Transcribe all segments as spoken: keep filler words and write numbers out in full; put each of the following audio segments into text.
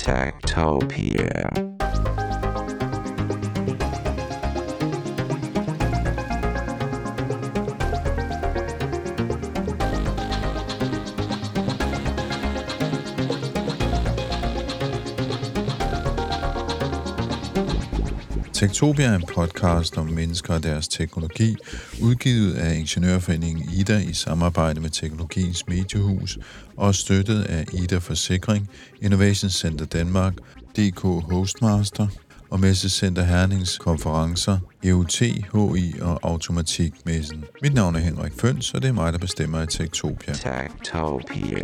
Techtopia. Techtopia er en podcast om mennesker og deres teknologi, udgivet af Ingeniørforeningen Ida i samarbejde med Teknologiens Mediehus og støttet af Ida Forsikring, Innovation Center Danmark, D K Hostmaster og Messecenter Hernings konferencer, E U T, H I og Automatikmessen. Mit navn er Henrik Føns, og det er mig, der bestemmer i Techtopia. Techtopia.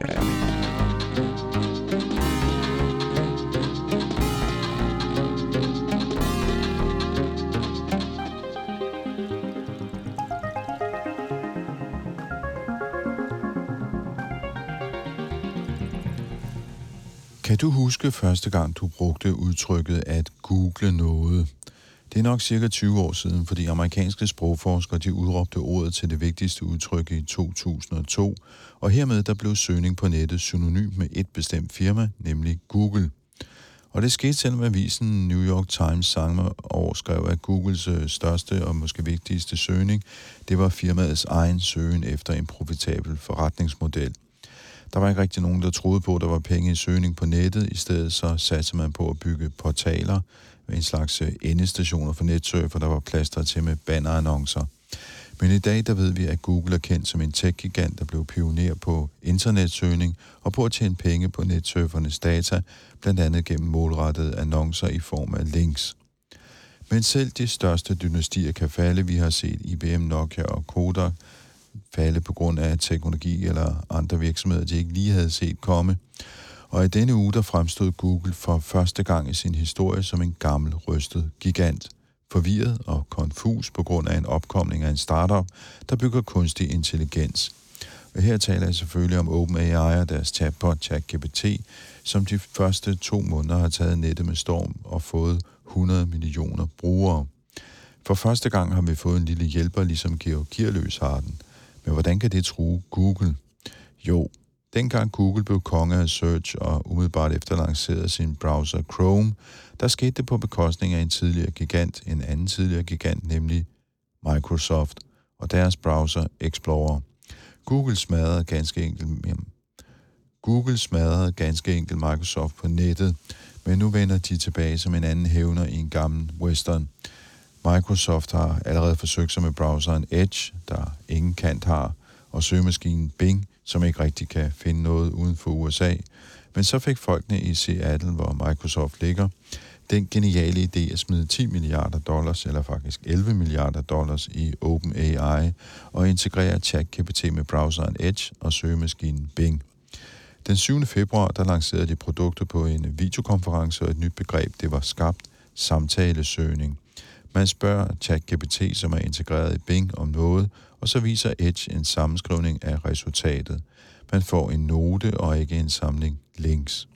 Kan du huske første gang, du brugte udtrykket at google noget? Det er nok cirka tyve år siden, fordi amerikanske sprogforskere de udråbte ordet til det vigtigste udtryk i to tusind og to, og hermed der blev søgning på nettet synonym med et bestemt firma, nemlig Google. Og det skete selvom avisen New York Times samme år skrev, at Googles største og måske vigtigste søgning, det var firmaets egen søgen efter en profitabel forretningsmodel. Der var ikke rigtig nogen, der troede på, at der var penge i søgning på nettet. I stedet så satte man på at bygge portaler med en slags endestationer for netsurfer, der var plaster til med bannerannoncer. Men i dag, der ved vi, at Google er kendt som en tech-gigant, der blev pioner på internetsøgning og på at tjene penge på netsurfernes data, blandt andet gennem målrettede annoncer i form af links. Men selv de største dynastier kan falde. Vi har set I B M, Nokia og Kodak falde på grund af teknologi eller andre virksomheder, de ikke lige havde set komme. Og i denne uge, der fremstod Google for første gang i sin historie som en gammel, rystet gigant. Forvirret og konfus på grund af en opkomling af en startup, der bygger kunstig intelligens. Og her taler jeg selvfølgelig om OpenAI og deres chatbot ChatGPT, som de første to måneder har taget nettet med storm og fået hundrede millioner brugere. For første gang har vi fået en lille hjælper, ligesom Georg Kirløs har den. Men hvordan kan det true Google? Jo, dengang Google blev konge af search og umiddelbart efter lancerede sin browser Chrome, der skete det på bekostning af en tidligere gigant, en anden tidligere gigant, nemlig Microsoft og deres browser Explorer. Google smadrede ganske enkelt, Google smadrede ganske enkelt Microsoft på nettet, men nu vender de tilbage som en anden hævner i en gammel western. Microsoft har allerede forsøgt sig med browseren Edge, der ingen kant har, og søgemaskinen Bing, som ikke rigtig kan finde noget uden for U S A. Men så fik folkene i Seattle, hvor Microsoft ligger, den geniale idé at smide ti milliarder dollars, eller faktisk elleve milliarder dollars i OpenAI, og integrere ChatGPT med browseren Edge og søgemaskinen Bing. Den syvende februar, der lancerede de produktet på en videokonference, og et nyt begreb, det var skabt samtalesøgning. Man spørger ChatGPT, som er integreret i Bing, om noget, og så viser Edge en sammenskrivning af resultatet. Man får en note og ikke en samling links.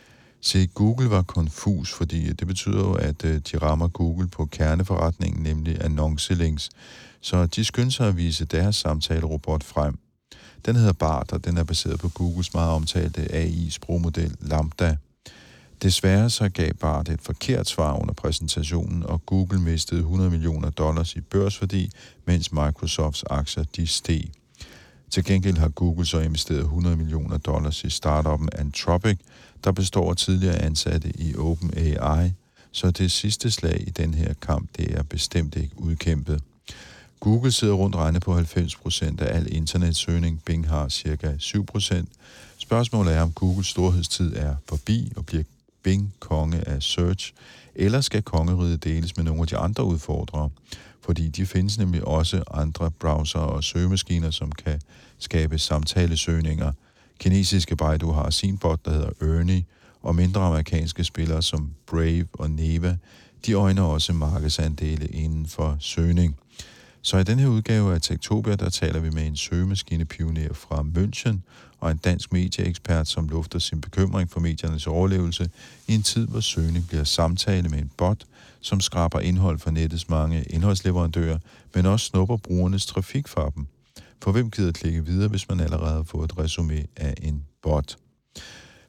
Se, Google var konfus, fordi det betyder jo, at de rammer Google på kerneforretningen, nemlig annoncelinks. Så de skyndte sig at vise deres samtalerobot frem. Den hedder Bart, og den er baseret på Googles meget omtalte A I-sprogmodel Lambda. Desværre så gav Bart et forkert svar under præsentationen, og Google mistede hundrede millioner dollars i børsværdi, mens Microsofts aktier de steg. Til gengæld har Google så investeret hundrede millioner dollars i startuppen Anthropic, der består af tidligere ansatte i OpenAI, så det sidste slag i den her kamp, det er bestemt ikke udkæmpet. Google sidder rundt regnet på halvfems procent af al internetsøgning, Bing har cirka syv procent. Spørgsmålet er, om Googles storhedstid er forbi og bliver Bing konge af search, eller skal kongeriget deles med nogle af de andre udfordrere, fordi de findes nemlig også andre browser og søgemaskiner, som kan skabe samtalesøgninger. Kinesiske Baidu har sin bot, der hedder Ernie, og mindre amerikanske spillere som Brave og Neva, de øjner også markedsandele inden for søgning. Så i den her udgave af Techtopia, der taler vi med en søgemaskinepioner fra München og en dansk medieekspert, som lufter sin bekymring for mediernes overlevelse i en tid, hvor søgning bliver samtale med en bot, som skraber indhold fra nettets mange indholdsleverandører, men også snupper brugernes trafik fra dem. For hvem gider klikke videre, hvis man allerede har fået et resumé af en bot?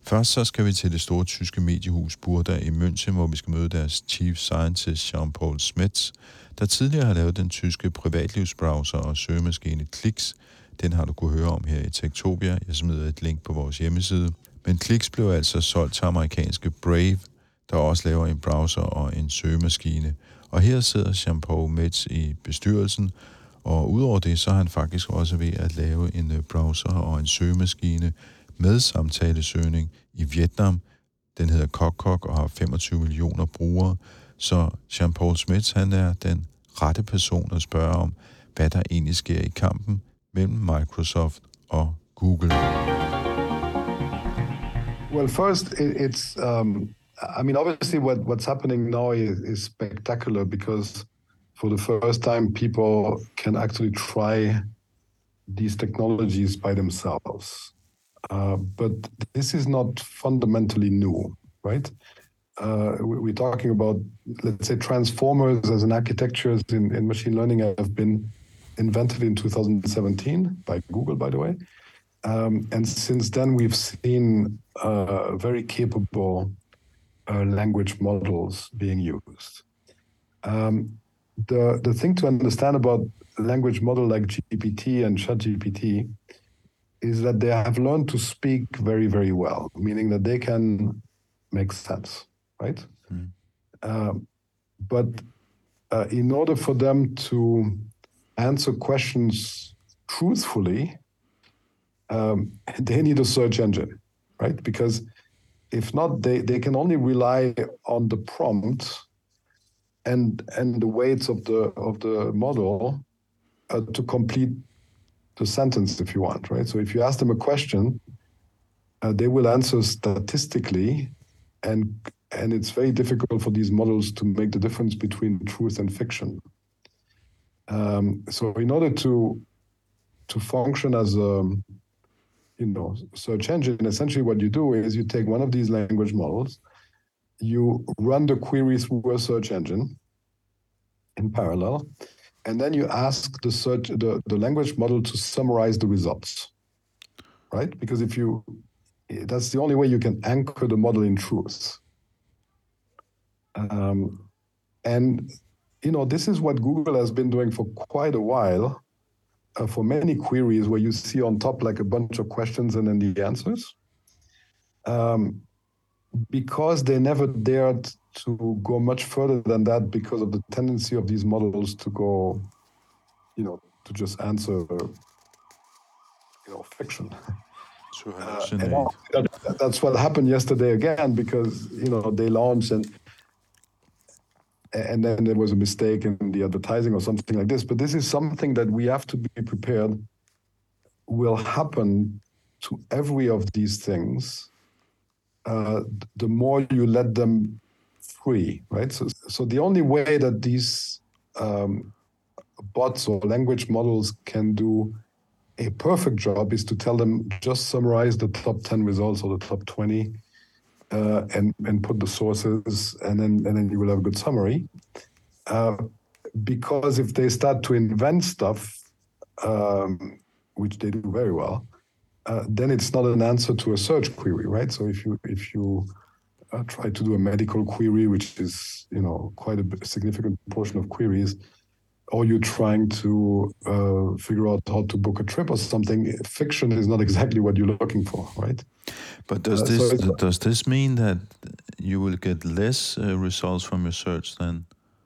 Først så skal vi til det store tyske mediehus Burda i München, hvor vi skal møde deres chief scientist Jean-Paul Smets, der tidligere har lavet den tyske privatlivsbrowser og søgemaskine Klix. Den har du kunne høre om her i Techtopia. Jeg smider et link på vores hjemmeside. Men Klix blev altså solgt til amerikanske Brave, der også laver en browser og en søgemaskine. Og her sidder Jean-Paul Smets i bestyrelsen, og udover det, så er han faktisk også ved at lave en browser og en søgemaskine med samtalesøgning i Vietnam. Den hedder KokKok og har femogtyve millioner brugere. Så Jean-Paul Smets, han er den rette person at spørge om, hvad der egentlig sker i kampen mellem Microsoft og Google. Well, first, it, it's, um, I mean, obviously what, what's happening now is, is spectacular because for the first time, people can actually try these technologies by themselves. Uh, but this is not fundamentally new, right? Uh, we're talking about, let's say, transformers as an architecture in, in machine learning have been invented in two thousand seventeen by Google, by the way. Um, and since then, we've seen uh, very capable uh, language models being used. Um, the, the thing to understand about a language model like G P T and ChatGPT is that they have learned to speak very, very well, meaning that they can make sense, right? Mm. Uh, but uh, in order for them to answer questions truthfully, um, they need a search engine, right? Because if not, they, they can only rely on the prompt and and the weights of the of the model uh, to complete the sentence, if you want, right? So if you ask them a question, uh, they will answer statistically, and and it's very difficult for these models to make the difference between truth and fiction. Um, so in order to to function as a you know search engine, essentially what you do is you take one of these language models, you run the query through a search engine in parallel, and then you ask the search the, the language model to summarize the results, right? Because if you that's the only way you can anchor the model in truth. Um, and you know this is what Google has been doing for quite a while. Uh, for many queries where you see on top like a bunch of questions and then the answers, um, because they never dared to go much further than that because of the tendency of these models to go, you know, to just answer, you know, fiction. To uh, and that, that's what happened yesterday again because, you know, they launched and and then there was a mistake in the advertising or something like this. But this is something that we have to be prepared will happen to every of these things. Uh, the more you let them free, right? So, so the only way that these um, bots or language models can do a perfect job is to tell them just summarize the top ten results or the top twenty. Uh, and and put the sources, and then and then you will have a good summary. Uh, because if they start to invent stuff, um, which they do very well, uh, then it's not an answer to a search query, right? So if you if you uh, try to do a medical query, which is you know quite a significant portion of queries, or you're trying to uh, figure out how to book a trip or something, fiction is not exactly what you're looking for, right? But does uh, this so does this mean that you will get less uh, results from your search then?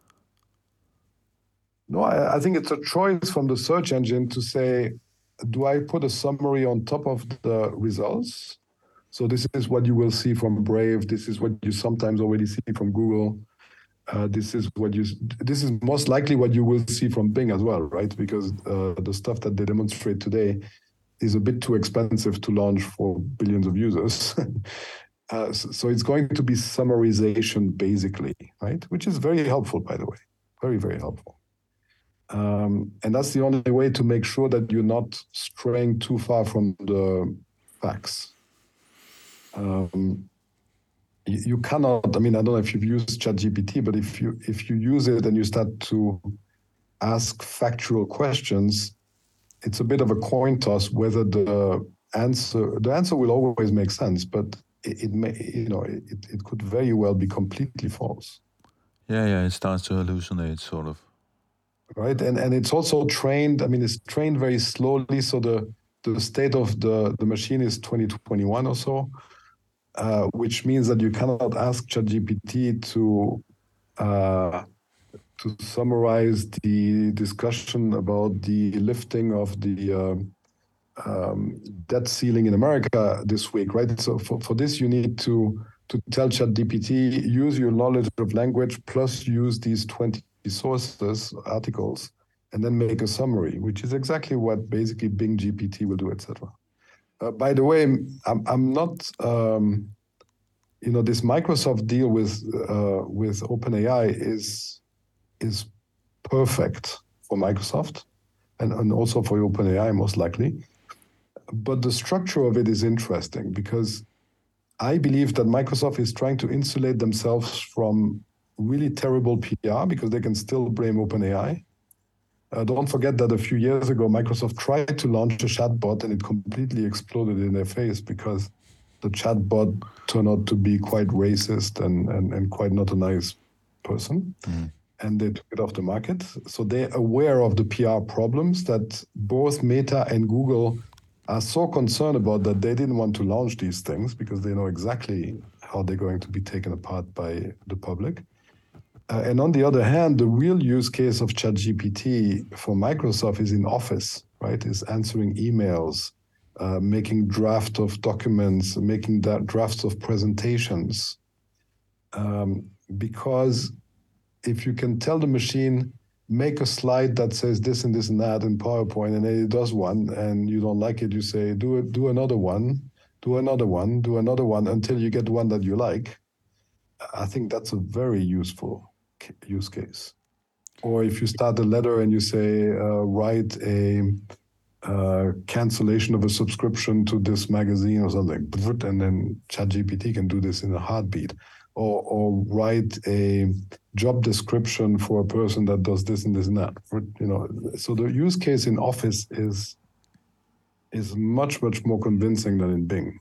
No, I, I think it's a choice from the search engine to say, do I put a summary on top of the results? So this is what you will see from Brave. This is what you sometimes already see from Google. Uh, this is what you. This is most likely what you will see from Bing as well, right? Because uh, the stuff that they demonstrate today is a bit too expensive to launch for billions of users. uh, so, so it's going to be summarization, basically, right? Which is very helpful, by the way. Very, very helpful. Um, and that's the only way to make sure that you're not straying too far from the facts. Um, you, you cannot, I mean, I don't know if you've used ChatGPT, but if you if you use it and you start to ask factual questions, it's a bit of a coin toss whether the answer, the answer will always make sense, but it, it may, you know, it, it could very well be completely false. Yeah, yeah, it starts to hallucinate, sort of. Right, and and it's also trained. I mean, it's trained very slowly. So the the state of the the machine is twenty twenty-one or so, uh, which means that you cannot ask ChatGPT to uh, to summarize the discussion about the lifting of the uh, um, debt ceiling in America this week, right? So for, for this, you need to to tell ChatGPT, use your knowledge of language plus use these twenty sources, articles, and then make a summary, which is exactly what basically Bing G P T will do, et cetera. Uh, by the way, I'm I'm not, um, you know, this Microsoft deal with uh, with OpenAI is is perfect for Microsoft, and, and also for OpenAI most likely. But the structure of it is interesting because I believe that Microsoft is trying to insulate themselves from really terrible P R because they can still blame OpenAI. Uh, don't forget that a few years ago, Microsoft tried to launch a chatbot and it completely exploded in their face because the chatbot turned out to be quite racist and, and, and quite not a nice person. Mm. And they took it off the market. So they're aware of the P R problems that both Meta and Google are so concerned about that they didn't want to launch these things because they know exactly how they're going to be taken apart by the public. Uh, and on the other hand, the real use case of ChatGPT for Microsoft is in Office, right? Is answering emails, uh, making draft of documents, making that drafts of presentations. Um, because if you can tell the machine, make a slide that says this and this and that in PowerPoint, and then it does one, and you don't like it, you say, do it, do another one, do another one, do another one, until you get one that you like. I think that's a very useful use case. Or if you start a letter and you say, uh, write a uh, cancellation of a subscription to this magazine or something, and then ChatGPT can do this in a heartbeat. Or, or write a job description for a person that does this and this and that. For, you know, so the use case in Office is is much much more convincing than in Bing.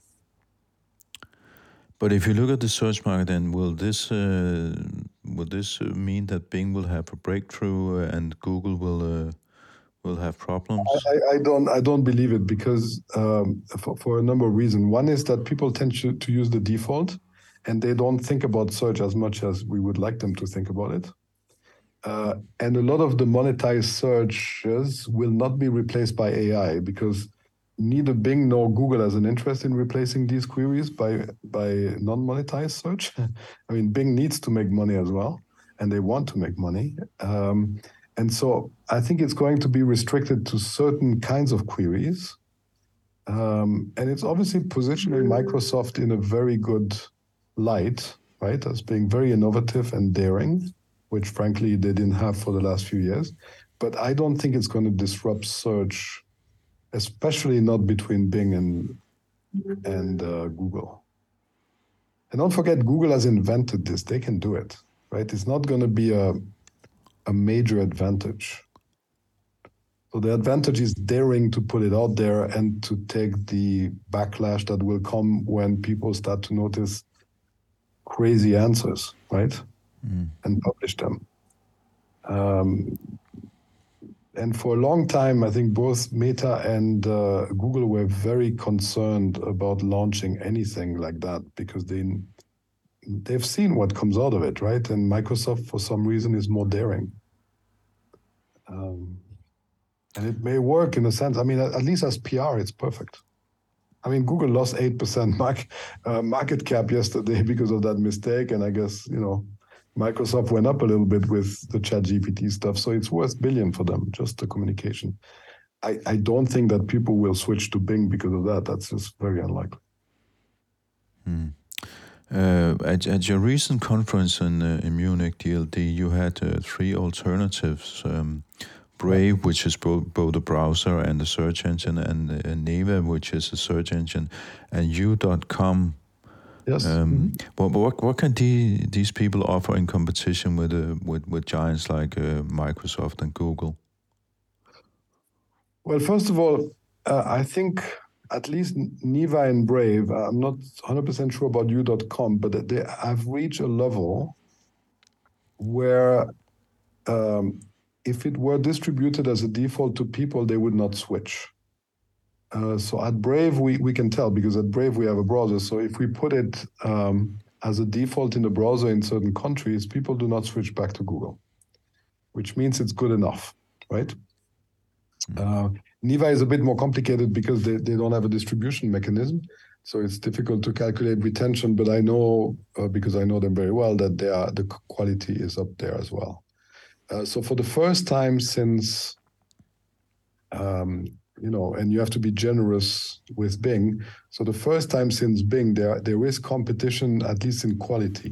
But if you look at the search market, then will this uh, will this mean that Bing will have a breakthrough and Google will uh, will have problems? I, I don't I don't believe it because um, for, for a number of reasons. One is that people tend to, to use the default, and they don't think about search as much as we would like them to think about it. Uh, and a lot of the monetized searches will not be replaced by A I because neither Bing nor Google has an interest in replacing these queries by, by non-monetized search. I mean, Bing needs to make money as well, and they want to make money. Um, and so I think it's going to be restricted to certain kinds of queries. Um, and it's obviously positioning Microsoft in a very good light, right, as being very innovative and daring, which frankly they didn't have for the last few years. But I don't think it's going to disrupt search, especially not between Bing and and uh, Google. And don't forget, Google has invented this; they can do it, right? It's not going to be a a major advantage. So the advantage is daring to put it out there and to take the backlash that will come when people start to notice crazy answers, right? Mm. And publish them. Um, and for a long time, I think both Meta and uh, Google were very concerned about launching anything like that because they, they've seen what comes out of it, right? And Microsoft, for some reason, is more daring. Um, and it may work in a sense. I mean, at, at least as P R, it's perfect. I mean, Google lost eight percent market, uh, market cap yesterday because of that mistake. And I guess, you know, Microsoft went up a little bit with the ChatGPT stuff. So it's worth billion for them, just the communication. I, I don't think that people will switch to Bing because of that. That's just very unlikely. Hmm. Uh, at, at your recent conference in, uh, in Munich, D L D, you had uh, three alternatives. Um, Brave, which is both, both a browser and a search engine, and uh, Neva, which is a search engine, and U dot com. Yes. Um, mm-hmm. what, what what can the, these people offer in competition with uh, with, with giants like uh, Microsoft and Google? Well, first of all, uh, I think at least Niva and Brave, I'm not one hundred percent sure about you dot com, but they have reached a level where um, if it were distributed as a default to people, they would not switch. Uh, so at Brave, we, we can tell, because at Brave we have a browser. So if we put it um, as a default in the browser in certain countries, people do not switch back to Google, which means it's good enough, right? Uh, Niva is a bit more complicated because they, they don't have a distribution mechanism. So it's difficult to calculate retention, but I know, uh, because I know them very well, that they are, the quality is up there as well. Uh, so for the first time since, um, you know, and you have to be generous with Bing. So the first time since Bing, there, there is competition, at least in quality.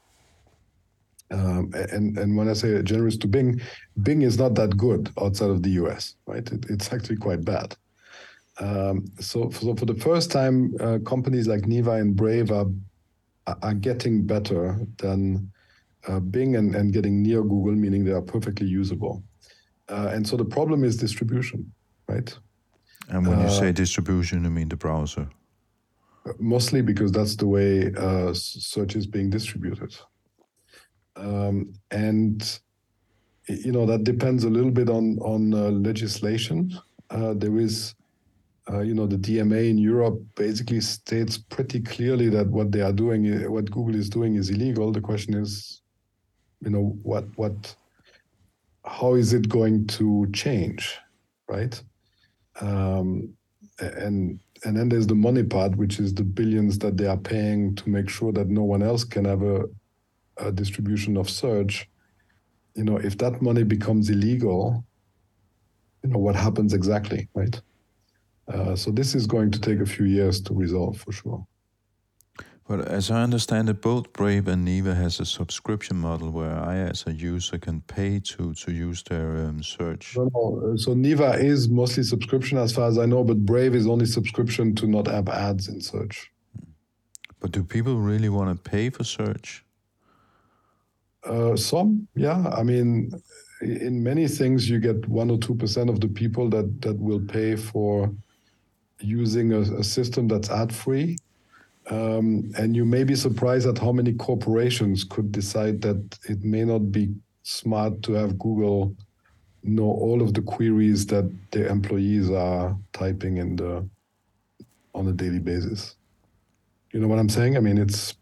Um, and, and when I say generous to Bing, Bing is not that good outside of the U S, right? It, it's actually quite bad. Um, so, so for the first time, uh, companies like Niva and Brave are, are getting better than uh, Bing and, and getting near Google, meaning they are perfectly usable. Uh, and so the problem is distribution, right? And when you uh, say distribution, you mean the browser? Mostly because that's the way uh, search is being distributed. Um, and, you know, that depends a little bit on, on uh, legislation. Uh, there is, uh, you know, the D M A in Europe basically states pretty clearly that what they are doing, what Google is doing is illegal. The question is, you know, what, what, how is it going to change, right? Um, and and then there's the money part, which is the billions that they are paying to make sure that no one else can have a, a distribution of search. You know, if that money becomes illegal, you know, what happens exactly, right? Uh, so this is going to take a few years to resolve for sure. But as I understand it, both Brave and Niva has a subscription model where I, as a user, can pay to, to use their um, search. No, no. So Niva is mostly subscription as far as I know, but Brave is only subscription to not have ads in search. But do people really want to pay for search? Uh, some, yeah. I mean, in many things, you get one or two percent of the people that, that will pay for using a, a system that's ad-free. Um, and you may be surprised at how many corporations could decide that it may not be smart to have Google know all of the queries that their employees are typing in the on a daily basis. You know what I'm saying? I mean, it's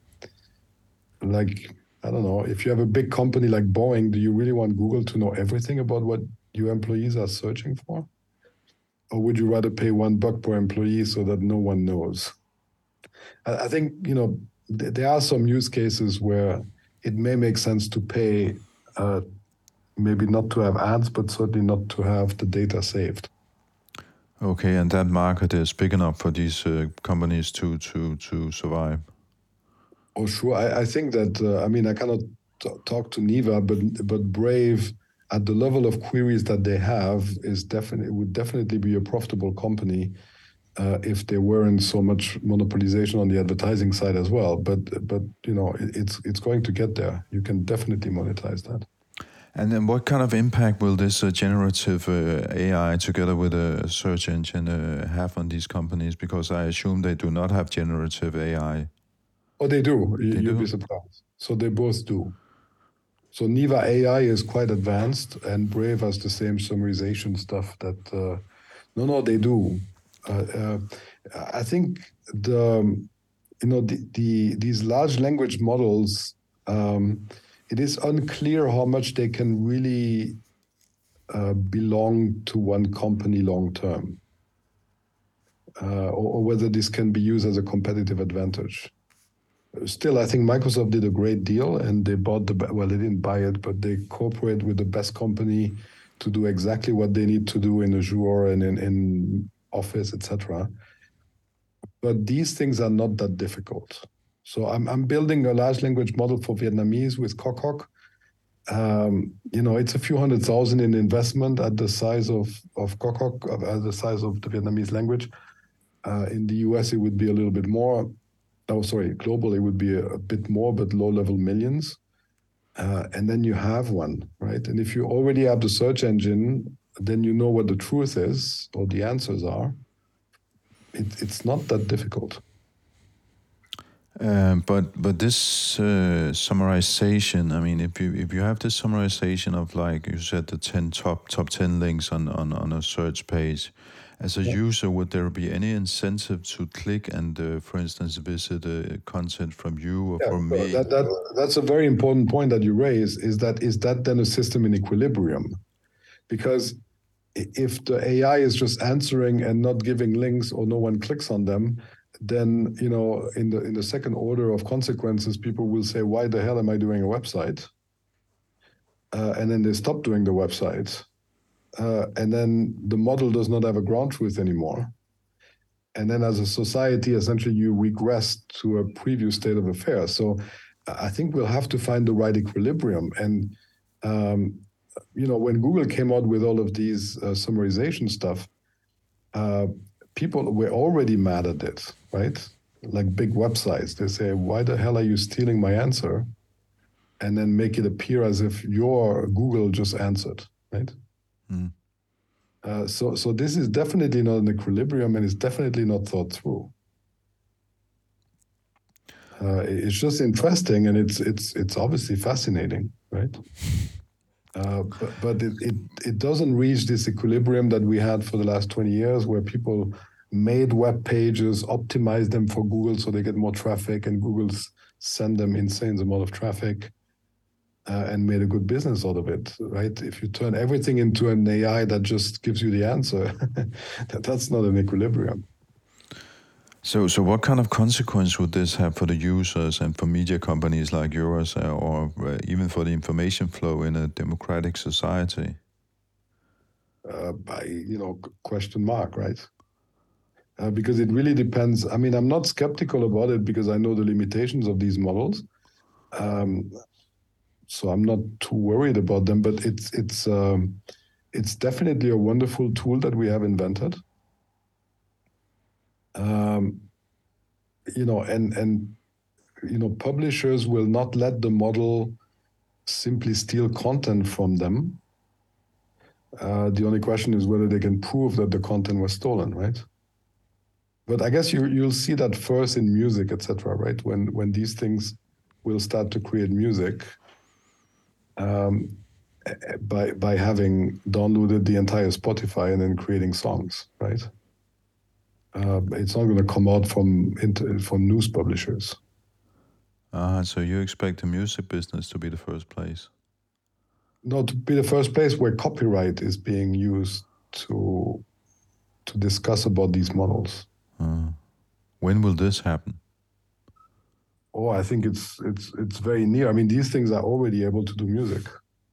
like, I don't know, if you have a big company like Boeing, do you really want Google to know everything about what your employees are searching for? Or would you rather pay one buck per employee so that no one knows? I think, you know, th- there are some use cases where it may make sense to pay, uh, maybe not to have ads, but certainly not to have the data saved. Okay, and that market is big enough for these uh, companies to, to, to survive? Oh, sure. I, I think that, uh, I mean, I cannot t- talk to Niva, but but Brave, at the level of queries that they have, is definitely would definitely be a profitable company. Uh, if there weren't so much monopolization on the advertising side as well, but but you know it, it's it's going to get there. You can definitely monetize that. And then, what kind of impact will this uh, generative uh, A I, together with a search engine, uh, have on these companies? Because I assume they do not have generative A I. Oh, they do. You, They you'll do? be surprised. So they both do. So Niva A I is quite advanced, and Brave has the same summarization stuff. That uh, no, no, they do. Uh, uh, I think the you know the, the these large language models. Um, it is unclear how much they can really uh, belong to one company long term, uh, or, or whether this can be used as a competitive advantage. Still, I think Microsoft did a great deal, and they bought the well, they didn't buy it, but they cooperate with the best company to do exactly what they need to do in Azure and in, in Office, et cetera. But these things are not that difficult. So I'm I'm building a large language model for Vietnamese with Kokok. Um, you know, it's a few hundred thousand in investment at the size of of Kokok, at the size of the Vietnamese language. Uh, in the U S, it would be a little bit more. Oh, sorry, globally it would be a, a bit more, but low-level millions. Uh, and then you have one, right? And if you already have the search engine, then you know what the truth is or the answers are. It it, it's not that difficult. Um, but but this uh, summarization, I mean, if you if you have this summarization of, like you said, the ten top top ten links on, on, on a search page, as a yeah. user, would there be any incentive to click and, uh, for instance, visit uh, content from you or yeah, from so me? That, that that's a very important point that you raise. Is that is that then a system in equilibrium? Because if the A I is just answering and not giving links, or no one clicks on them, then, you know, in the in the second order of consequences, people will say, why the hell am I doing a website? Uh, and then they stop doing the website. Uh, and then the model does not have a ground truth anymore. And then as a society, essentially, you regress to a previous state of affairs. So I think we'll have to find the right equilibrium. And, um, you know, when Google came out with all of these uh, summarization stuff, uh, people were already mad at it, right? Like big websites, they say, why the hell are you stealing my answer? And then make it appear as if your Google just answered, right? Mm. Uh, so, so this is definitely not an equilibrium, and it's definitely not thought through. Uh, it's just interesting, and it's it's it's obviously fascinating, right? Uh, but but it, it it doesn't reach this equilibrium that we had for the last twenty years, where people made web pages, optimized them for Google so they get more traffic, and Google's send them insane amount of traffic, uh, and made a good business out of it, right? If you turn everything into an A I that just gives you the answer, that, that's not an equilibrium. So, so what kind of consequence would this have for the users and for media companies like yours, uh, or uh, even for the information flow in a democratic society? Uh, by, you know, question mark, right? Uh, because it really depends. I mean, I'm not skeptical about it because I know the limitations of these models. Um, so I'm not too worried about them, but it's, it's, um, it's definitely a wonderful tool that we have invented. Um, you know, and, and, you know, publishers will not let the model simply steal content from them. Uh, the only question is whether they can prove that the content was stolen, right? But I guess you, you'll see that first in music, et cetera, right? When, when these things will start to create music, um, by, by having downloaded the entire Spotify and then creating songs, right? Uh, it's not going to come out from from news publishers. Ah, so you expect the music business to be the first place? No, to be the first place where copyright is being used to to discuss about these models. Uh, when will this happen? Oh, I think it's it's it's very near. I mean, these things are already able to do music.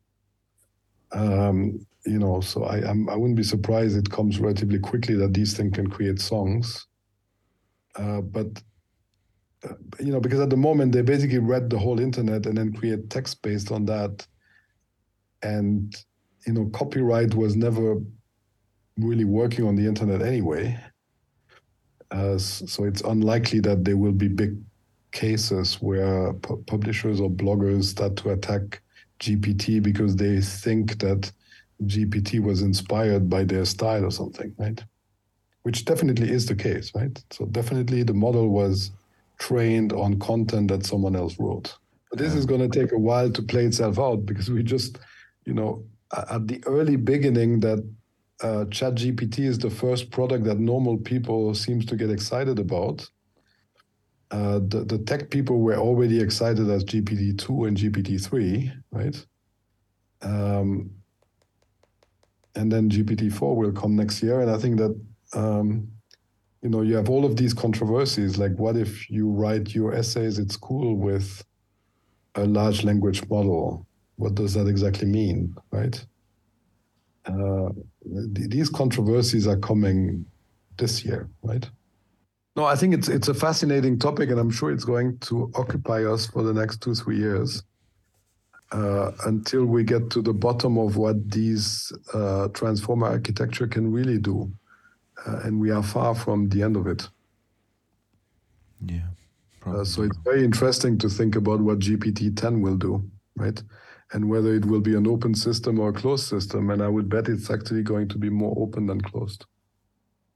Um, you know, so I I'm, I wouldn't be surprised it comes relatively quickly that these things can create songs. Uh, but uh, you know, because at the moment they basically read the whole internet and then create text based on that. And you know, copyright was never really working on the internet anyway. Uh, so it's unlikely that there will be big cases where pu- publishers or bloggers start to attack G P T because they think that G P T was inspired by their style or something, right? Which definitely is the case, right? So definitely the model was trained on content that someone else wrote. But this um, is going to take a while to play itself out because we just, you know, at the early beginning that uh, ChatGPT is the first product that normal people seems to get excited about. Uh, the, the tech people were already excited as G P T two and G P T three, right? Um, and then G P T four will come next year. And I think that, um, you know, you have all of these controversies, like what if you write your essays at school with a large language model? What does that exactly mean, right? Uh, th- these controversies are coming this year, right? No, I think it's it's a fascinating topic, and I'm sure it's going to occupy us for the next two, three years uh, until we get to the bottom of what these uh, transformer architecture can really do. Uh, and we are far from the end of it. Yeah. Uh, so it's very interesting to think about what G P T ten will do, right? And whether it will be an open system or a closed system. And I would bet it's actually going to be more open than closed.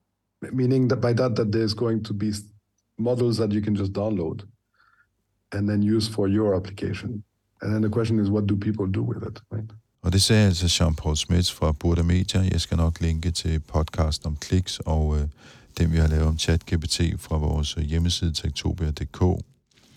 meaning that by that, that there's going to be models that you can just download and then use for your application. And then the question is, what do people do with it, right? Og det sagde altså Jean-Paul Smets fra Burda Media. Jeg skal nok linke til podcasten om kliks og øh, den, vi har lavet om ChatGPT fra vores hjemmeside techtopia punktum d k.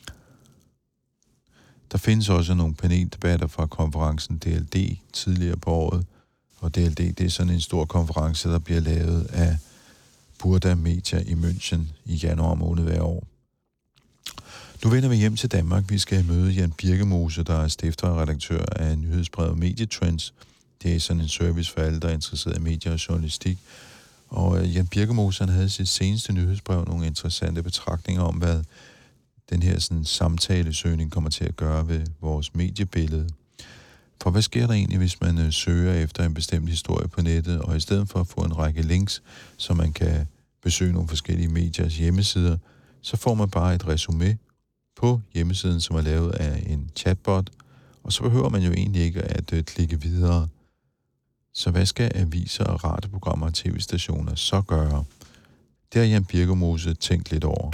Der findes også nogle paneldebatter fra konferencen D L D tidligere på året. Og D L D, det er sådan en stor konference, der bliver lavet af Burda Media i München i januar måned hver år. Nu vender vi hjem til Danmark. Vi skal møde Jan Birkemose, der er stifter og redaktør af nyhedsbrevet Medietrends. Det er sådan en service for alle, der er interesseret i medier og journalistik. Og Jan Birkemose, han havde sit seneste nyhedsbrev nogle interessante betragtninger om, hvad den her sådan, samtalesøgning kommer til at gøre ved vores mediebillede. For hvad sker der egentlig, hvis man øh, søger efter en bestemt historie på nettet, og i stedet for at få en række links, så man kan besøge nogle forskellige mediers hjemmesider, så får man bare et resumé på hjemmesiden, som er lavet af en chatbot, og så behøver man jo egentlig ikke at øh, klikke videre. Så hvad skal aviser og radioprogrammer og tv-stationer så gøre? Det har Jan Birkemose tænkt lidt over.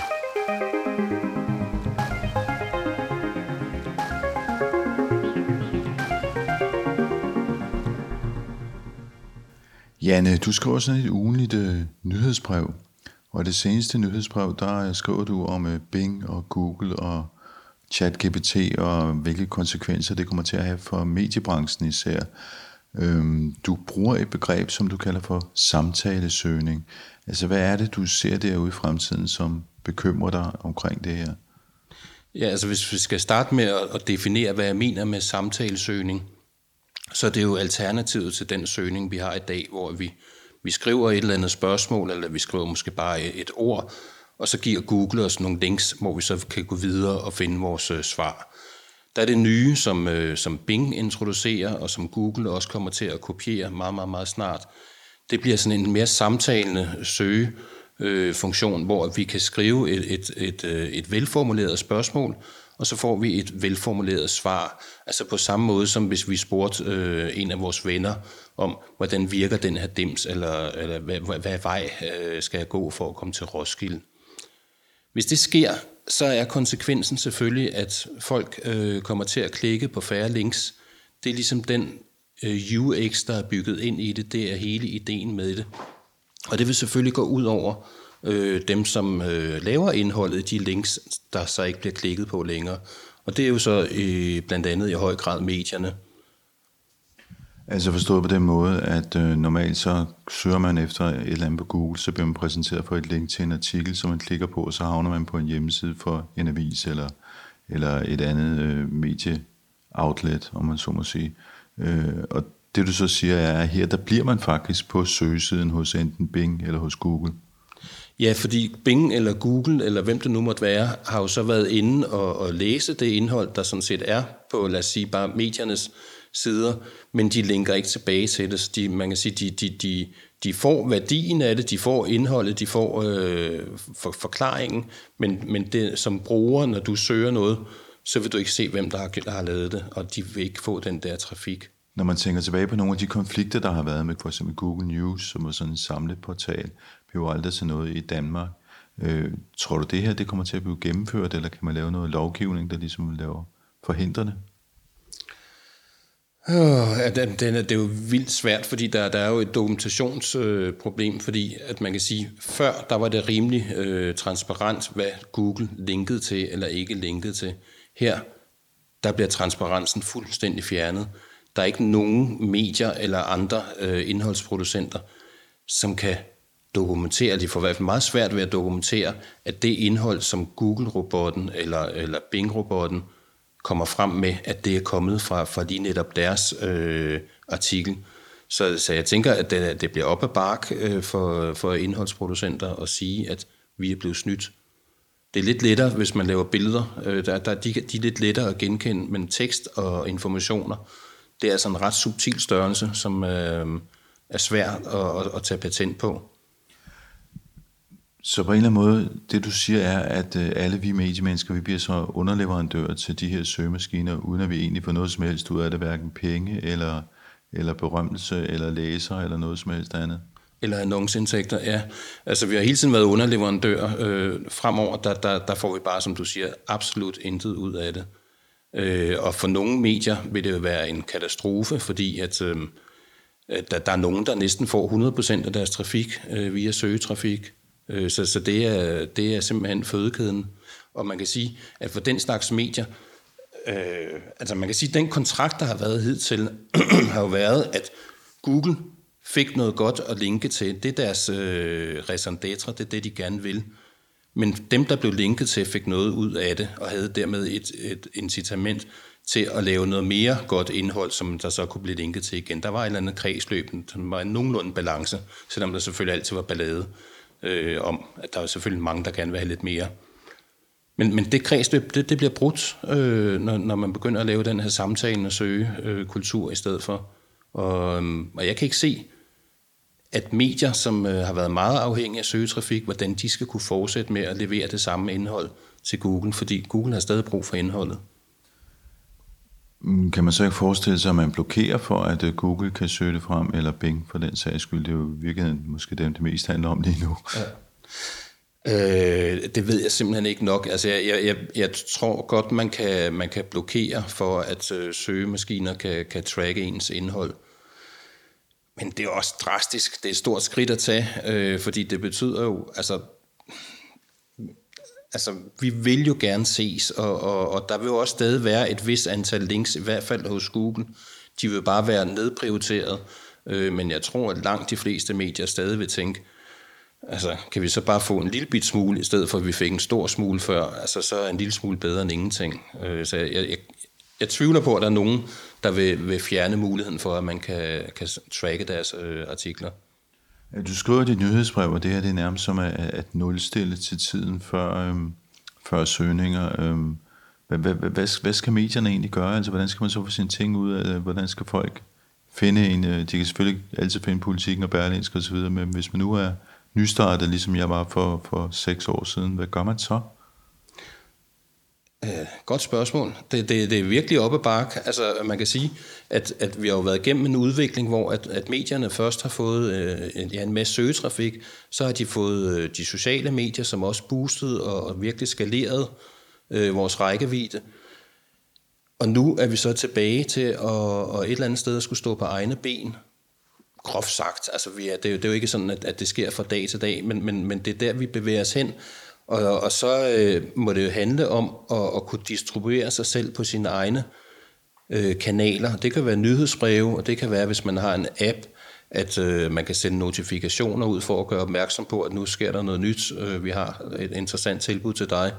Janne, du skriver sådan et ugenligt øh, nyhedsbrev, og i det seneste nyhedsbrev, der skriver du om øh, Bing og Google og ChatGPT, og hvilke konsekvenser det kommer til at have for mediebranchen især. Øhm, du bruger et begreb, som du kalder for samtalesøgning. Altså, hvad er det, du ser derude i fremtiden, som bekymrer dig omkring det her? Ja, altså hvis vi skal starte med at definere, hvad jeg mener med samtalesøgning, så er det jo alternativet til den søgning, vi har i dag, hvor vi, vi skriver et eller andet spørgsmål, eller vi skriver måske bare et ord, og så giver Google os nogle links, hvor vi så kan gå videre og finde vores øh, svar. Der er det nye, som, øh, som Bing introducerer, og som Google også kommer til at kopiere meget, meget, meget snart. Det bliver sådan en mere samtalende søgefunktion, øh, hvor vi kan skrive et, et, et, et velformuleret spørgsmål, og så får vi et velformuleret svar. Altså på samme måde, som hvis vi spurgte øh, en af vores venner om, hvordan virker den her dims, eller, eller hvad, hvad, hvad vej øh, skal jeg gå for at komme til Roskilde. Hvis det sker, så er konsekvensen selvfølgelig, at folk øh, kommer til at klikke på færre links. Det er ligesom den øh, U X, der er bygget ind i det. Det er hele ideen med det. Og det vil selvfølgelig gå ud over øh, dem, som øh, laver indholdet, de links, der så ikke bliver klikket på længere. Og det er jo så øh, blandt andet i høj grad medierne. Altså forstået på den måde, at øh, normalt så søger man efter et eller andet på Google, så bliver man præsenteret for et link til en artikel, som man klikker på, og så havner man på en hjemmeside for en avis eller, eller et andet øh, medie-outlet, om man så må sige. Øh, og det du så siger er, at her der bliver man faktisk på søgesiden hos enten Bing eller hos Google. Ja, fordi Bing eller Google, eller hvem det nu måtte være, har jo så været inde og, og læse det indhold, der sådan set er på, lad os sige, bare mediernes sider, men de linker ikke tilbage til det. Så de, man kan sige, de, de, de, de får værdien af det, de får indholdet, de får øh, for, forklaringen, men, men det, som bruger, når du søger noget, så vil du ikke se, hvem der har, der har lavet det, og de vil ikke få den der trafik. Når man tænker tilbage på nogle af de konflikter, der har været med for eksempel Google News, som var sådan en samleportal, blev aldrig til noget i Danmark. Øh, tror du det her, det kommer til at blive gennemført, eller kan man lave noget lovgivning, der ligesom laver forhindrende? Oh, den, den er, det er jo vildt svært, fordi der, der er jo et dokumentationsproblem, øh, fordi at man kan sige, før der var det rimelig øh, transparent, hvad Google linkede til eller ikke linkede til. Her, der bliver transparensen fuldstændig fjernet. Der er ikke nogen medier eller andre øh, indholdsproducenter, som kan dokumentere, de får i hvert fald meget svært ved at dokumentere, at det indhold, som Google-robotten eller, eller Bing-robotten kommer frem med, at det er kommet fra, fra lige netop deres øh, artikel. Så, så jeg tænker, at det, det bliver op ad bark øh, for, for indholdsproducenter at sige, at vi er blevet snydt. Det er lidt lettere, hvis man laver billeder. Øh, der, der, de, de er lidt lettere at genkende, men tekst og informationer, det er altså en ret subtil størrelse, som øh, er svær at, at, at tage patent på. Så på en eller anden måde, det du siger er, at alle vi mediemennesker, vi bliver så underleverandører til de her søgemaskiner, uden at vi egentlig får noget som helst ud af det, hverken penge eller, eller berømmelse eller læser eller noget som helst andet. Eller annoncindtægter, ja. Altså, vi har hele tiden været underleverandør. Øh, fremover, der, der, der får vi bare, som du siger, absolut intet ud af det. Øh, og for nogle medier vil det jo være en katastrofe, fordi at, øh, at der, der er nogen, der næsten får hundrede procent af deres trafik øh, via søgetrafik. Øh, så så det, er, det er simpelthen fødekæden. Og man kan sige, at for den slags medier, øh, altså man kan sige, at den kontrakt, der har været hidtil, har jo været, at Google fik noget godt at linke til. Det er deres øh, raison d'être, det er det, de gerne vil. Men dem, der blev linket til, fik noget ud af det, og havde dermed et, et incitament til at lave noget mere godt indhold, som der så kunne blive linket til igen. Der var et eller andet kredsløb, som var en nogenlunde balance, selvom der selvfølgelig altid var ballade øh, om, at der var selvfølgelig mange, der gerne vil have lidt mere. Men, men det kredsløb, det, det bliver brudt, øh, når, når man begynder at lave den her samtale og søge øh, kultur i stedet for. Og, og jeg kan ikke se, at medier, som øh, har været meget afhængige af søgetrafik, hvordan de skal kunne fortsætte med at levere det samme indhold til Google, fordi Google har stadig brug for indholdet. Kan man så ikke forestille sig, at man blokerer for, at uh, Google kan søge det frem, eller Bing for den sags skyld? Det er jo virkelig måske dem, det mest handler om lige nu. Ja. Øh, det ved jeg simpelthen ikke nok. Altså, jeg, jeg, jeg, jeg tror godt, man kan, man kan blokere for, at øh, søgemaskiner kan, kan tracke ens indhold. Men det er også drastisk. Det er et stort skridt at tage, øh, fordi det betyder jo, altså, altså vi vil jo gerne ses, og, og, og der vil jo også stadig være et vist antal links, i hvert fald hos Google. De vil bare være nedprioriteret, øh, men jeg tror, at langt de fleste medier stadig vil tænke, altså kan vi så bare få en lille bit smule, i stedet for at vi fik en stor smule før, altså så er en lille smule bedre end ingenting. Øh, så jeg, jeg, jeg tvivler på, at der er nogen, der vil, vil fjerne muligheden for, at man kan, kan tracke deres øh, artikler. Du skriver i dit nyhedsbrev, og det her det er nærmest som at, at nulstille til tiden før, øhm, før søgninger. Øhm, hvad, hvad, hvad, hvad skal medierne egentlig gøre? Altså, hvordan skal man så få sine ting ud af det? Hvordan skal folk finde en... De kan selvfølgelig altid finde Politikken og Berlingske og så videre, men hvis man nu er nystartet, ligesom jeg var for, for seks år siden, hvad gør man så? Uh, godt spørgsmål. Det, det, det er virkelig op ad bakke. Altså, man kan sige, at, at vi har jo været igennem en udvikling, hvor at, at medierne først har fået uh, en, ja, en masse søgetrafik, så har de fået uh, de sociale medier, som også boostede og, og virkelig skaleret uh, vores rækkevidde. Og nu er vi så tilbage til at og et eller andet sted at skulle stå på egne ben. Groft sagt. Altså, vi er, det, er jo, det er jo ikke sådan, at, at det sker fra dag til dag, men, men, men det er der, vi bevæger os hen. Og, og så øh, må det jo handle om at, at kunne distribuere sig selv på sine egne øh, kanaler. Det kan være nyhedsbreve, og det kan være, hvis man har en app, at øh, man kan sende notifikationer ud for at gøre opmærksom på, at nu sker der noget nyt. Øh, vi har et interessant tilbud til dig.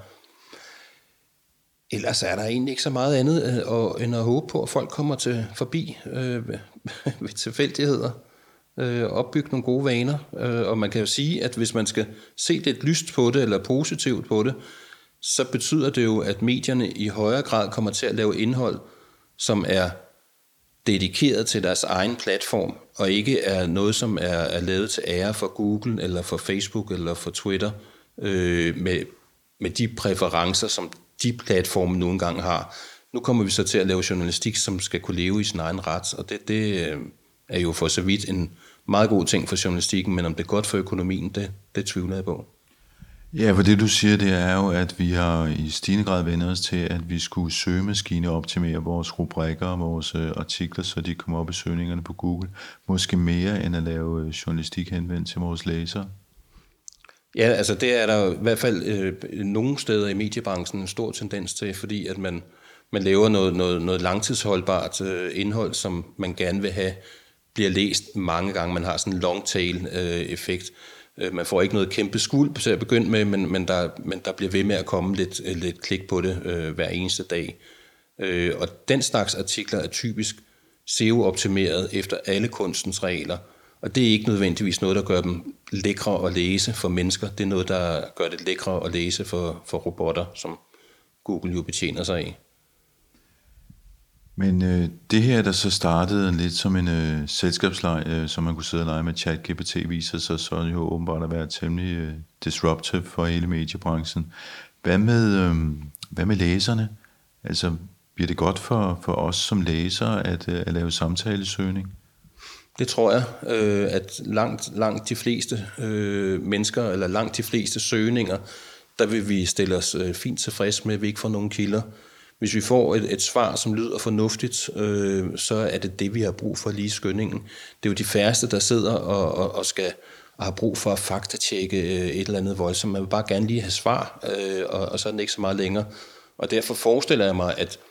Ellers er der egentlig ikke så meget andet øh, end at håbe på, at folk kommer til forbi øh, ved tilfældigheder. Øh, opbygge nogle gode vaner, øh, og man kan jo sige, at hvis man skal se lidt lyst på det, eller positivt på det, så betyder det jo, at medierne i højere grad kommer til at lave indhold, som er dedikeret til deres egen platform, og ikke er noget, som er, er lavet til ære for Google, eller for Facebook, eller for Twitter, øh, med, med de præferencer, som de platforme nogle gange har. Nu kommer vi så til at lave journalistik, som skal kunne leve i sin egen ret, og det, det øh, er jo for så vidt en meget god ting for journalistikken, men om det er godt for økonomien, det, det tvivler jeg på. Ja, for det du siger, det er jo, at vi har i stigende grad vendt os til, at vi skulle søgemaskine optimere vores rubrikker og vores artikler, så de kommer op i søgningerne på Google. Måske mere end at lave journalistik henvendt til vores læsere. Ja, altså det er der i hvert fald øh, nogle steder i mediebranchen en stor tendens til, fordi at man, man laver noget, noget, noget langtidsholdbart øh, indhold, som man gerne vil have, bliver læst mange gange. Man har sådan en long tail øh, effekt. Man får ikke noget kæmpe skuld til at begynde med, men, men, der, men der bliver ved med at komme lidt, lidt klik på det øh, hver eneste dag. Øh, og den slags artikler er typisk S E O-optimeret efter alle kunstens regler. Og det er ikke nødvendigvis noget, der gør dem lækre at læse for mennesker. Det er noget, der gør det lækre at læse for, for robotter, som Google jo betjener sig af. Men øh, det her, der så startede lidt som en øh, selskabsleg, øh, som man kunne sidde og lege med ChatGPT, viser sig så jo åbenbart at være temmelig øh, disruptive for hele mediebranchen. Hvad med, øh, hvad med læserne? Altså, bliver det godt for, for os som læsere at, øh, at lave samtalesøgning? Det tror jeg, øh, at langt, langt de fleste øh, mennesker, eller langt de fleste søgninger, der vil vi stille os øh, fint tilfreds med, at vi ikke får nogen kilder. Hvis vi får et, et svar, som lyder fornuftigt, øh, så er det det, vi har brug for lige i skyndingen. Det er jo de færreste, der sidder og, og, og skal og har brug for at faktatjekke øh, et eller andet voldsomt. Man vil bare gerne lige have svar, øh, og, og så er den ikke så meget længere. Og derfor forestiller jeg mig, at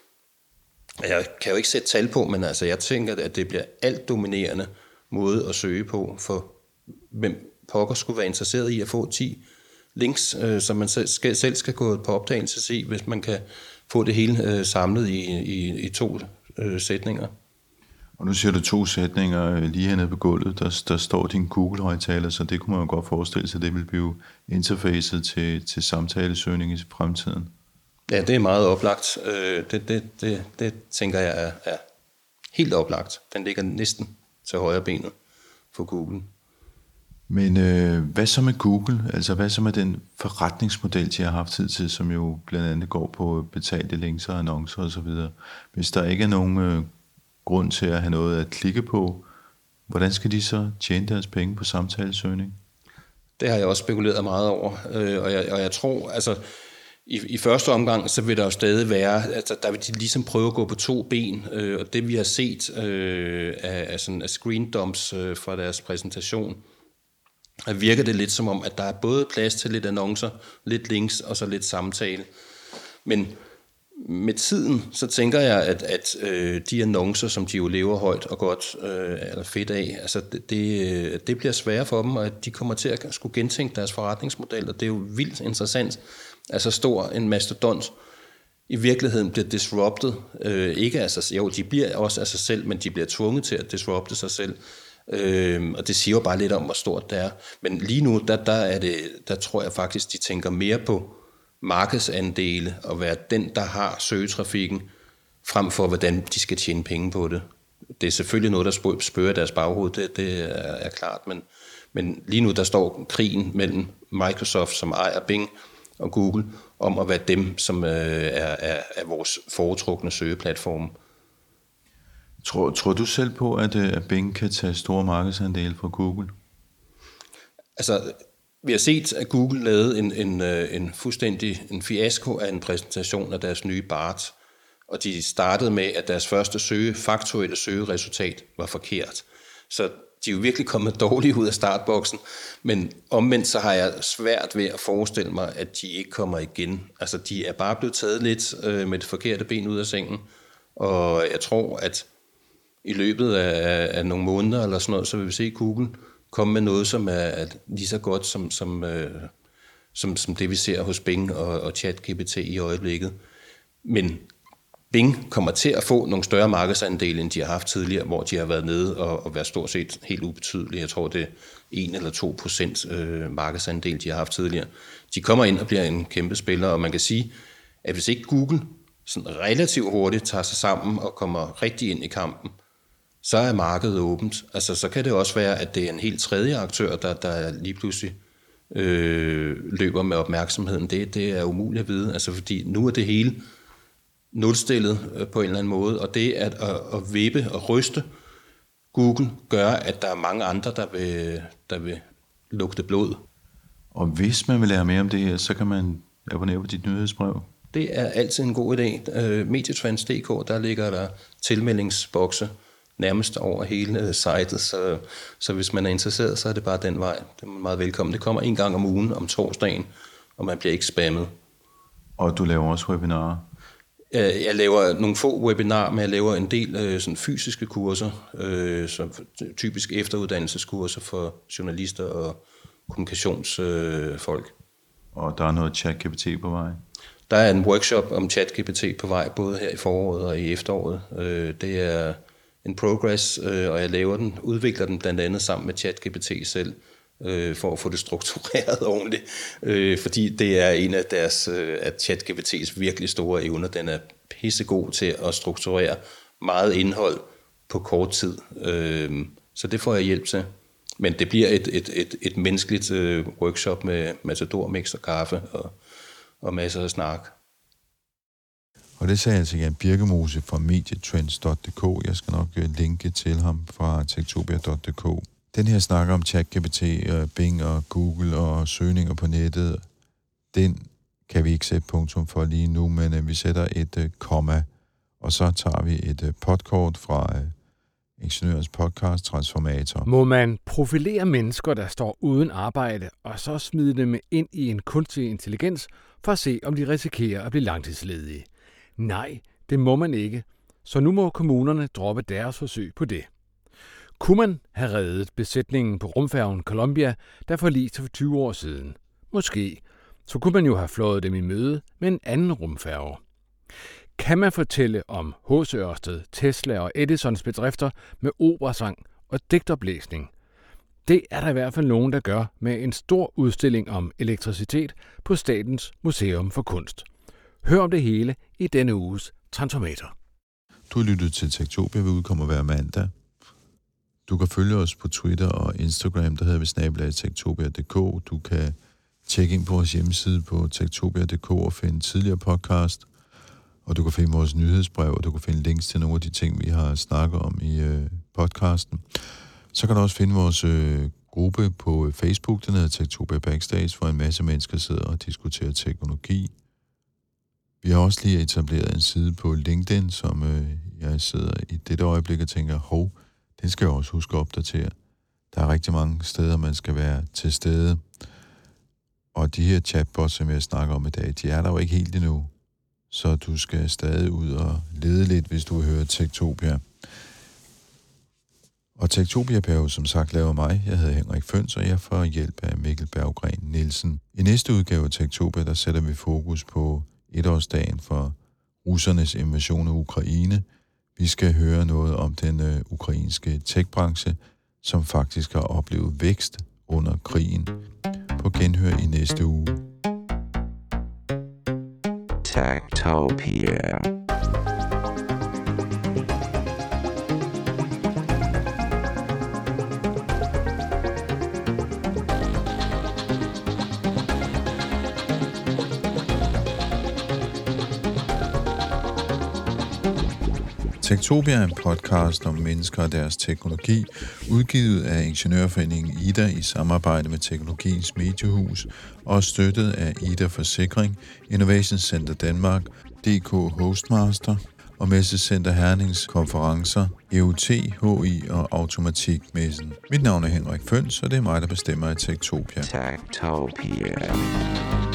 jeg kan jo ikke sætte tal på, men altså jeg tænker, at det bliver alt dominerende måde at søge på, for hvem pokker skulle være interesseret i at få ti links, øh, som man selv skal, selv skal gå på opdagelse og se, hvis man kan få det hele øh, samlet i, i, i to øh, sætninger. Og nu siger du to sætninger lige hernede på gulvet, der, der står din Google-højtaler, så det kunne man jo godt forestille sig, det vil blive interfacet til, til samtalesøgning i fremtiden. Ja, det er meget oplagt. Det, det, det, det tænker jeg er, er helt oplagt. Den ligger næsten til højre benet for Google. Men øh, hvad så med Google? Altså hvad så med den forretningsmodel, de har haft tid til, som jo blandt andet går på betalte links og annoncer osv.? Hvis der ikke er nogen øh, grund til at have noget at klikke på, hvordan skal de så tjene deres penge på samtalesøgning? Det har jeg også spekuleret meget over, øh, og, jeg, og jeg tror, altså i, i første omgang, så vil der jo stadig være, altså der vil de ligesom prøve at gå på to ben, øh, og det vi har set øh, af, af, sådan, af screen dumps øh, fra deres præsentation, virker det lidt som om, at der er både plads til lidt annoncer, lidt links og så lidt samtale. Men med tiden, så tænker jeg, at, at øh, de annoncer, som de jo lever højt og godt øh, eller fedt af, altså det, det, det bliver sværere for dem, og at de kommer til at skulle gentænke deres forretningsmodel, og det er jo vildt interessant. Altså stor en mastodont i virkeligheden bliver disrupted, øh, ikke af sig, jo, de bliver også af sig selv, men de bliver tvunget til at disrupte sig selv. Øhm, og det siger jo bare lidt om, hvor stort det er. Men lige nu, der, der, er det, der tror jeg faktisk, de tænker mere på markedsandele og være den, der har søgetrafikken, frem for hvordan de skal tjene penge på det. Det er selvfølgelig noget, der spørger deres baghoved, det, det er, er klart, men, men lige nu, der står krigen mellem Microsoft, som ejer Bing, og Google, om at være dem, som øh, er, er, er vores foretrukne søgeplatform. Tror, tror du selv på, at, at Bing kan tage store markedsandele fra Google? Altså, vi har set, at Google lavede en, en, en fuldstændig en fiasko af en præsentation af deres nye Bart, og de startede med, at deres første søge, faktuelle søgeresultat var forkert. Så de er jo virkelig kommet dårligt ud af startboksen, men omvendt så har jeg svært ved at forestille mig, at de ikke kommer igen. Altså, de er bare blevet taget lidt øh, med det forkerte ben ud af sengen, og jeg tror, at i løbet af, af nogle måneder eller sådan noget, så vil vi se Google komme med noget, som er, er lige så godt som, som, øh, som, som det, vi ser hos Bing og, og ChatGPT i øjeblikket. Men Bing kommer til at få nogle større markedsandele, end de har haft tidligere, hvor de har været nede og, og været stort set helt ubetydelige. Jeg tror, det er en eller to procent øh, markedsandel, de har haft tidligere. De kommer ind og bliver en kæmpe spiller, og man kan sige, at hvis ikke Google sådan relativt hurtigt tager sig sammen og kommer rigtig ind i kampen, så er markedet åbent. Altså, så kan det også være, at det er en helt tredje aktør, der, der lige pludselig øh, løber med opmærksomheden. Det, det er umuligt at vide, altså, fordi nu er det hele nulstillet øh, på en eller anden måde, og det at, at, at vippe og ryste Google gør, at der er mange andre, der vil, der vil lugte blod. Og hvis man vil lære mere om det her, så kan man abonnere på dit nyhedsbrev. Det er altid en god idé. Øh, Medietrends punktum d k, der ligger der tilmeldingsbokse nærmest over hele sitet, så, så hvis man er interesseret, så er det bare den vej. Det er meget velkommen. Det kommer en gang om ugen om torsdagen, og man bliver ikke spammet. Og du laver også webinarer? Jeg laver nogle få webinarer, men jeg laver en del øh, sådan fysiske kurser, øh, som typisk efteruddannelseskurser for journalister og kommunikationsfolk. Øh, og der er noget ChatGPT på vej? Der er en workshop om ChatGPT på vej, både her i foråret og i efteråret. Øh, det er en progress, øh, og jeg laver den, udvikler den blandt andet sammen med ChatGPT selv, øh, for at få det struktureret ordentligt, øh, fordi det er en af deres, øh, af ChatGPT's virkelig store evner. Den er pissegod til at strukturere meget indhold på kort tid, øh, så det får jeg hjælp til. Men det bliver et, et, et, et menneskeligt øh, workshop med matador, mix og kaffe og, og masser af snak. Og det sagde altså Jan Birkemose fra medietrends punktum d k. Jeg skal nok linke til ham fra techtopia punktum d k. Den her snakker om ChatGPT, Bing og Google og søgninger på nettet, den kan vi ikke sætte punktum for lige nu, men vi sætter et komma, og så tager vi et podkort fra Ingeniørens podcast Transformator. Må man profilere mennesker, der står uden arbejde, og så smide dem ind i en kunstig intelligens, for at se, om de risikerer at blive langtidsledige? Nej, det må man ikke, så nu må kommunerne droppe deres forsøg på det. Kunne man have reddet besætningen på rumfærgen Columbia, der forliste for tyve år siden? Måske. Så kunne man jo have fløjet dem i møde med en anden rumfærge. Kan man fortælle om H C Ørsted, Tesla og Edisons bedrifter med operasang og digtoplæsning? Det er der i hvert fald nogen, der gør med en stor udstilling om elektricitet på Statens Museum for Kunst. Hør om det hele i denne uges Transformator. Du har lyttet til Techtopia, vi udkommer hver mandag. Du kan følge os på Twitter og Instagram, der hedder vi snabel-a techtopia punktum d k. Du kan tjekke ind på vores hjemmeside på techtopia punktum d k og finde tidligere podcast. Og du kan finde vores nyhedsbrev, og du kan finde links til nogle af de ting, vi har snakket om i øh, podcasten. Så kan du også finde vores øh, gruppe på Facebook, den hedder Techtopia Backstage, hvor en masse mennesker sidder og diskuterer teknologi. Vi har også lige etableret en side på LinkedIn, som øh, jeg sidder i dette øjeblik og tænker, hov, den skal jeg også huske at opdatere. Der er rigtig mange steder, man skal være til stede. Og de her chatbots, som jeg snakker om i dag, de er der jo ikke helt endnu. Så du skal stadig ud og lede lidt, hvis du hører Techtopia. Og Techtopia er jo som sagt lavet mig. Jeg hedder Henrik Føns, og jeg får hjælp af Mikkel Berggren Nielsen. I næste udgave af Techtopia, der sætter vi fokus på etårsdagen for russernes invasion af Ukraine. Vi skal høre noget om den øh, ukrainske techbranche, som faktisk har oplevet vækst under krigen. På genhør i næste uge. Techtopia. Techtopia er en podcast om mennesker og deres teknologi, udgivet af Ingeniørforeningen Ida i samarbejde med Teknologiens Mediehus og støttet af Ida Forsikring, Innovation Center Danmark, D K Hostmaster og Messecenter Hernings konferencer, E U T, H I og Automatikmessen. Mit navn er Henrik Føns, og det er mig, der bestemmer i Techtopia. Techtopia.